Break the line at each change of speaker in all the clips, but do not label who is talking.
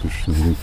Krishna, Hare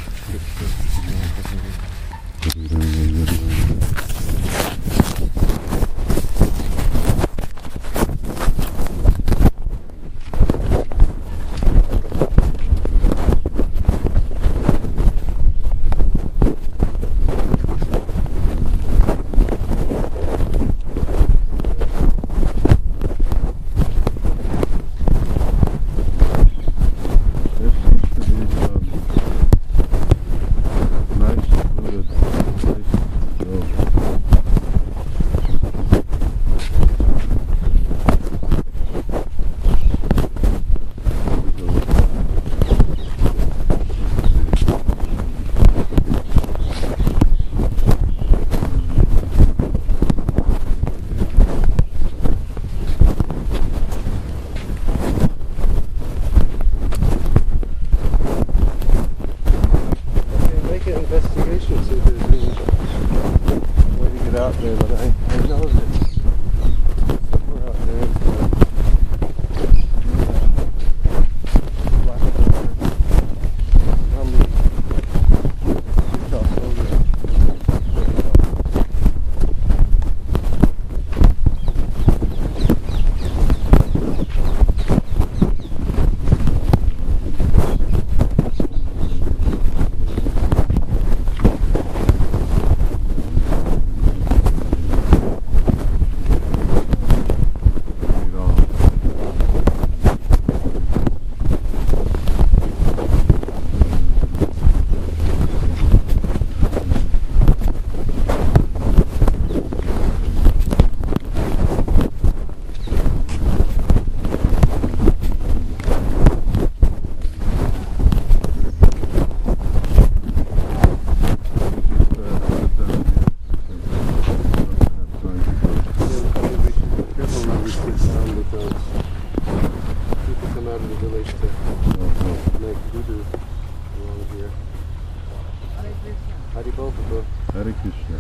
Krishna.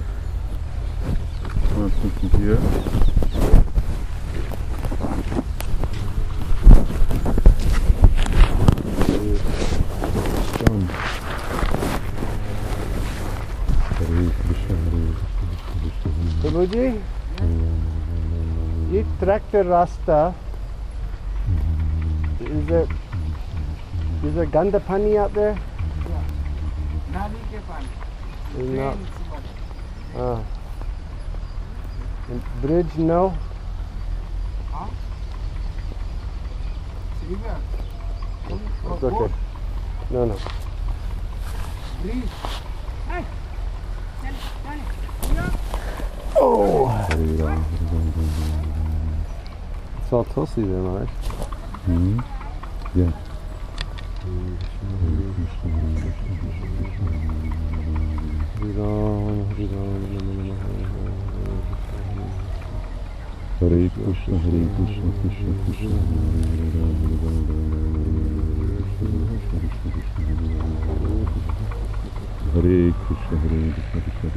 Want to here?
Prabhuji, ये tractor rasta, is there ganda pani out there?
Nali ke pani.
No. And bridge, no?
Huh? River.
It's okay. No, no.
Bridge. Hey.
Oh! It's all Tulsi then, right?
Mm-hmm. Yeah. Hare Krishna, Hare Krishna, Krishna Krishna, Hare Krishna, Hare Krishna,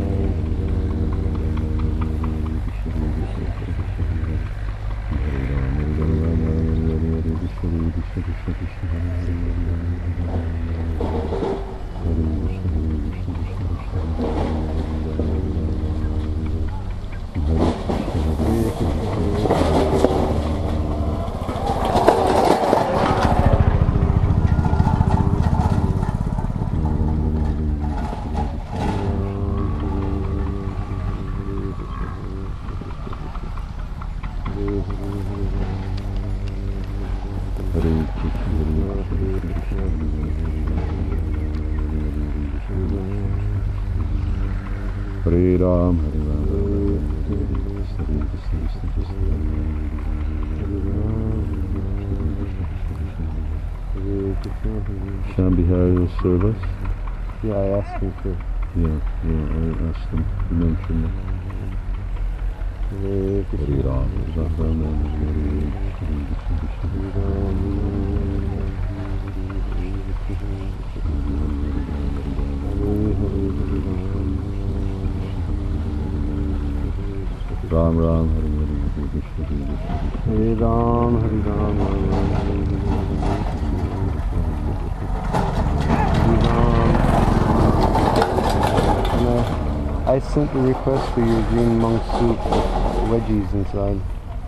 Hare Ram, Hare Ram, Shambhihari will serve us?
Yeah, I asked him to.
Yeah, I asked him to mention it. Hare Ram, Hare Ram, Ram, Hare Hare, Krishna,
Hare Ram, Hare Ram, Hare Ram, Hare Ram. I sent the request for your green monk soup with wedgies inside.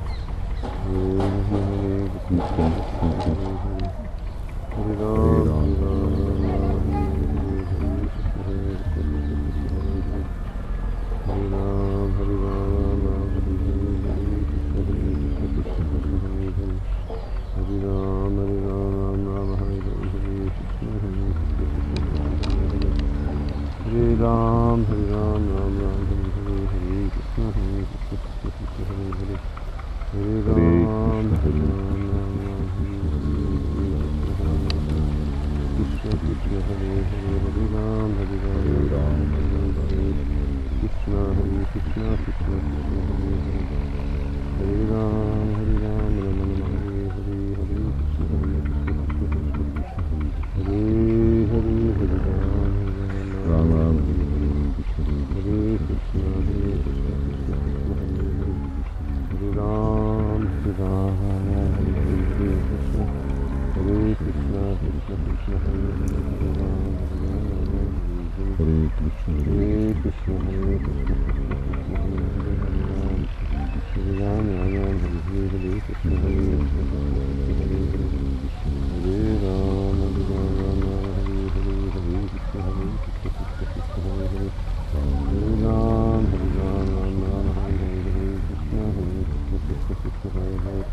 Hare Ram, Hare Ram, Ram Ram, Hare Hare, Hare Krishna, Hare Krishna, Krishna Hare Hare, Hare Ram, Hare Ram, Ram Ram, Hare Krishna, Hare Hare, Hare Ram, Hare Ram, Krishna, Hare Krishna, Krishna Hare Hare, Hare Ram, Hare Ram, Ram Ram, Hare Hare, Hare Krishna, Hare Krishna, Hare Hare, Hare Ram.
Ram Ram
Hare Krishna, Hare Krishna, Krishna Krishna, Hare Hare, Hare Ram, Hare Ram, Hare Krishna, Hare Krishna, Krishna Krishna, Hare Hare, Hare Ram, Hare
Krishna
Hare Krishna, Hare Krishna, Krishna Krishna, Hare Ram, Hare Ram, Hare Hare, Hare Krishna, Hare Krishna, Hare Ram, Hare Ram, Ram Ram, Hare Hare, Hare Krishna, Hare Krishna, Krishna Hare Hare, Hare Ram, Hare Ram, Ram Ram, Hare Hare, Hare Krishna, Hare Krishna, Krishna Hare Hare,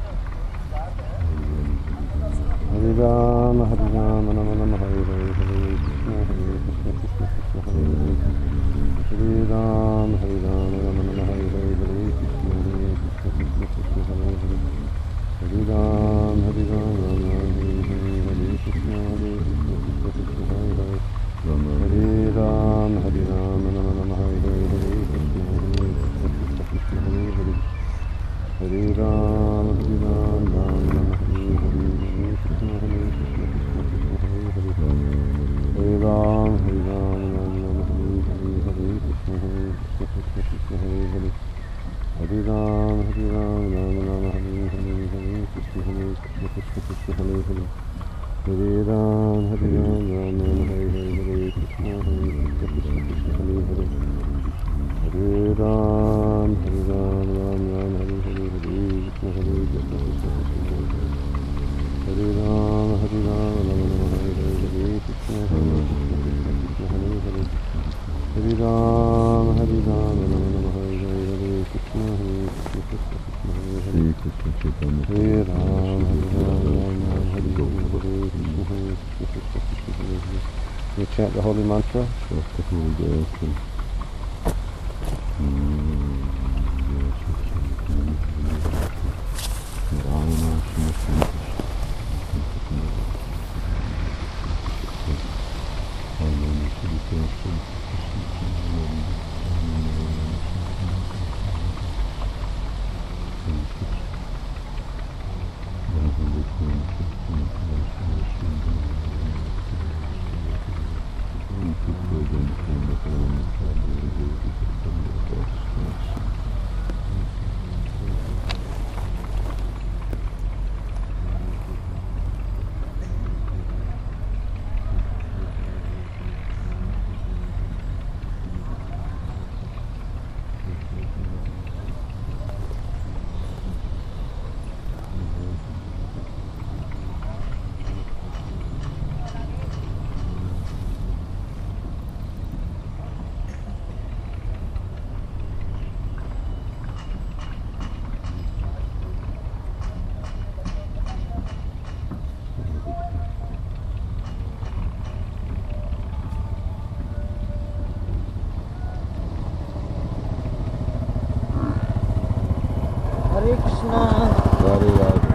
Hare Ram, Hare Ram, Ram Ram, Hare Hare, Hare Krishna, Hare Krishna, Krishna Hare Hare, Hare Ram, Hare Ram, Ram Ram, Hare Hare, Hare Krishna, Hare Krishna, Krishna Hare Hare, Hare Ram, Hare Ram, Ram Ram, Hare Hare, Hare Krishna, Hare Krishna, Krishna Hare Hare, Hare Ram, Hare Ram, Ram Ram, Hare Hare, Hare Krishna, Krishna Krishna Hare Hare, Hare Ram, Hare Ram, Ram Ram, Hare Hare, Hare Krishna, Hare Krishna, Krishna Krishna Hare Hare, Hare Ram, Hare Ram, Ram Ram, Hare Hare, Hare Krishna, Hare Krishna, Krishna Hare Hare, Hare Ram, Hare Ram, Ram Ram, Hare Hare, Hare Krishna, Hare Krishna, Krishna Hare Hare, Hare Ram, Hare Ram, Ram Ram, Hare Hare, Hare Krishna, Hare Krishna, Krishna Hare Hare, Hare Ram, Hare Ram, Ram Ram, Hare Hare, Hare Krishna, Hare Krishna, Krishna Krishna Hare Hare, Hare Ram, Hare Ram, Ram Ram, Hare Hare, Hare Krishna, Hare Krishna, Krishna Krishna Hare Hare, Hare Ram, Hare Ram, Ram Ram, Hare Hare, Hare Krishna, Hare Krishna, Krishna Krishna Hare Hare, Hare Ram, Hare Ram, Ram Ram, Hare Hare, Hare Krishna, Hare Krishna, Krishna Krishna Hare Hare. You chant the holy mantra.
Hare Krishna.
Radhe Radhe.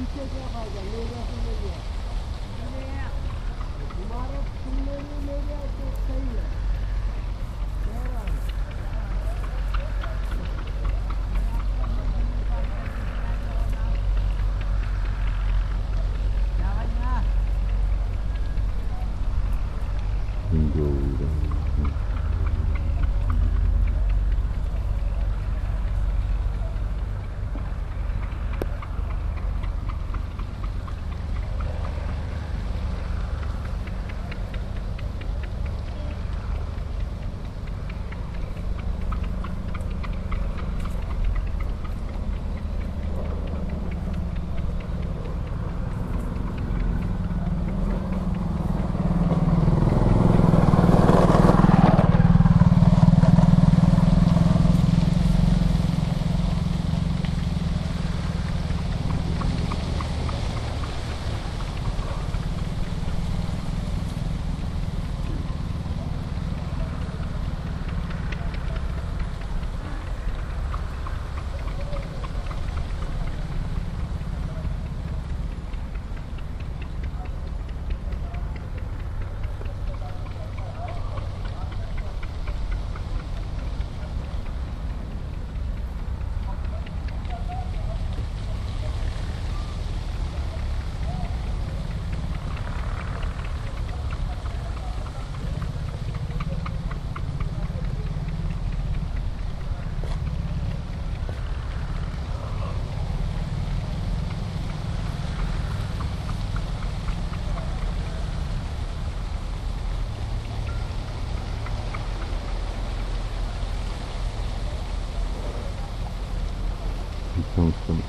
नीचे क्या खाएगा ले गया तो ले गया तुम्हारे तुमने नहीं ले गया तो सही है कह रहा हूँ
Então, estamos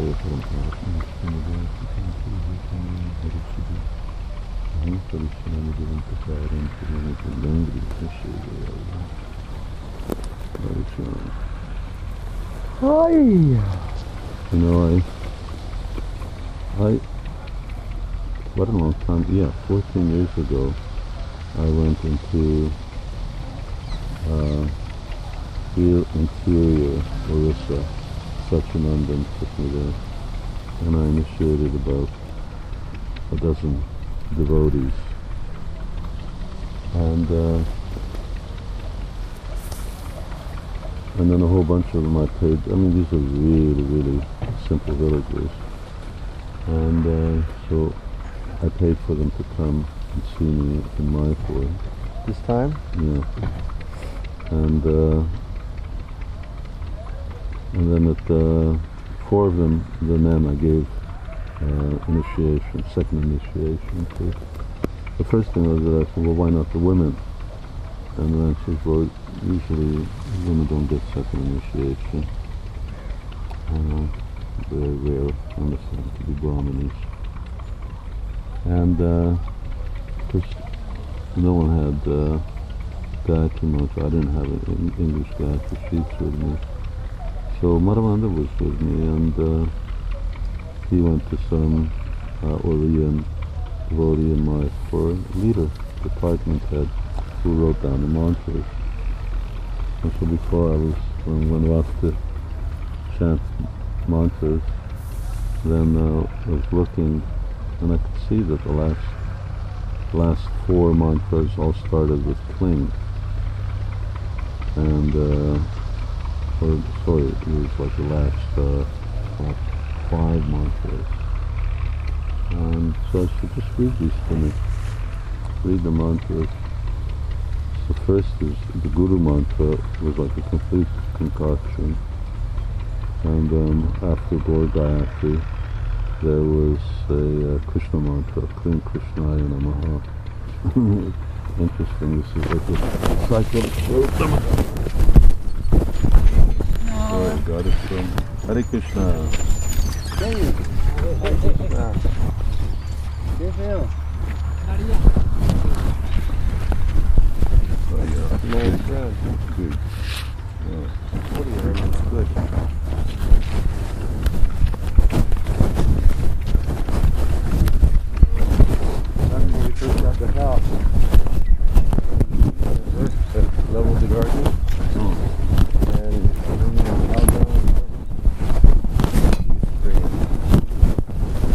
you know, what a long time, yeah, 14 years ago, I went into interior Orissa. Satchidananda took me there, and I initiated about a dozen devotees. And then a whole bunch of them I paid. I mean, these are really, really simple villagers. And so I paid for them to come and see me in Mayapur.
This time?
Yeah. And then at 4 of them, the men, I gave initiation, second initiation to. The first thing was that I said, well, why not the women? And the man says, well, usually women don't get second initiation. Very rare, understand, to be Brahmanis. And, of course, no one had Gayatri Mantra. I didn't have an English Gayatri sheets with me. So Madhavendra was with me, and he went to some Oriyan devotee in my leader, department head, who wrote down the mantras. And so before I was, when I was to chant mantras, then I was looking, and I could see that the last 4 mantras all started with cling. And or sorry, it was like the last 5 mantras. And so I said, just read these to me. Read the mantras. The first is the Guru mantra, was like a complete concoction. And after Gaur Gayatri, there was a Krishna mantra, Kling Krishnaya Namaha. Interesting, this is like a cycle. Oh, God is from Hare Krishna.
Old friend.
Good. Yeah.
What are you doing? It's good. That's when we first got the house. Leveled the garden. And out down.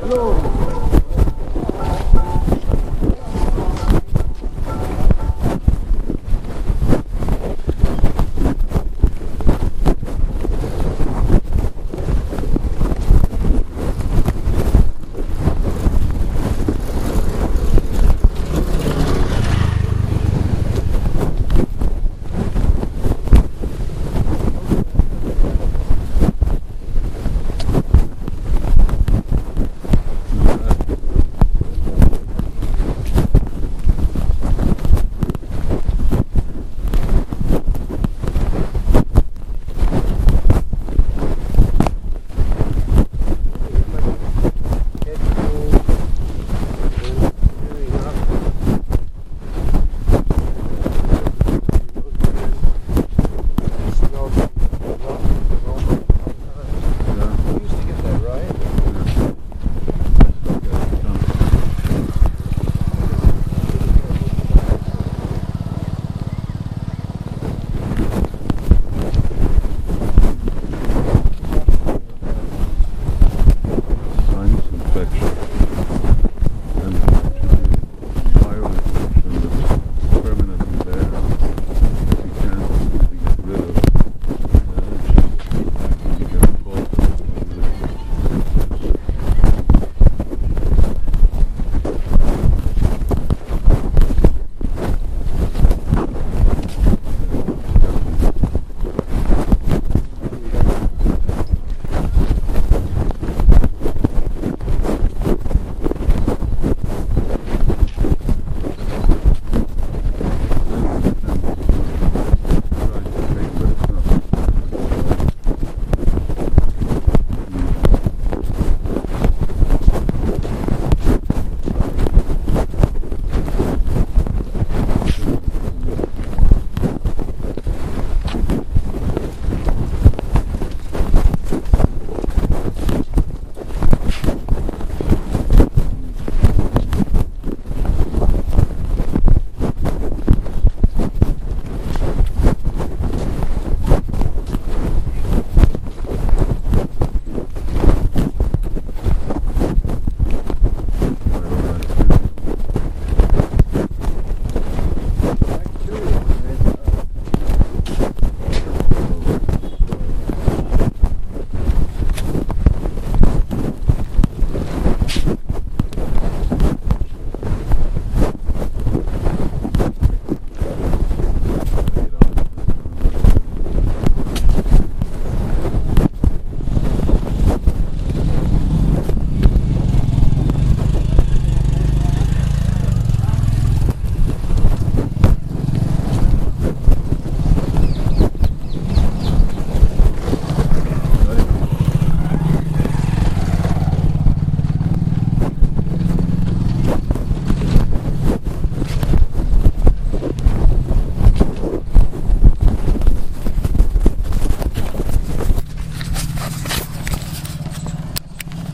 Hello.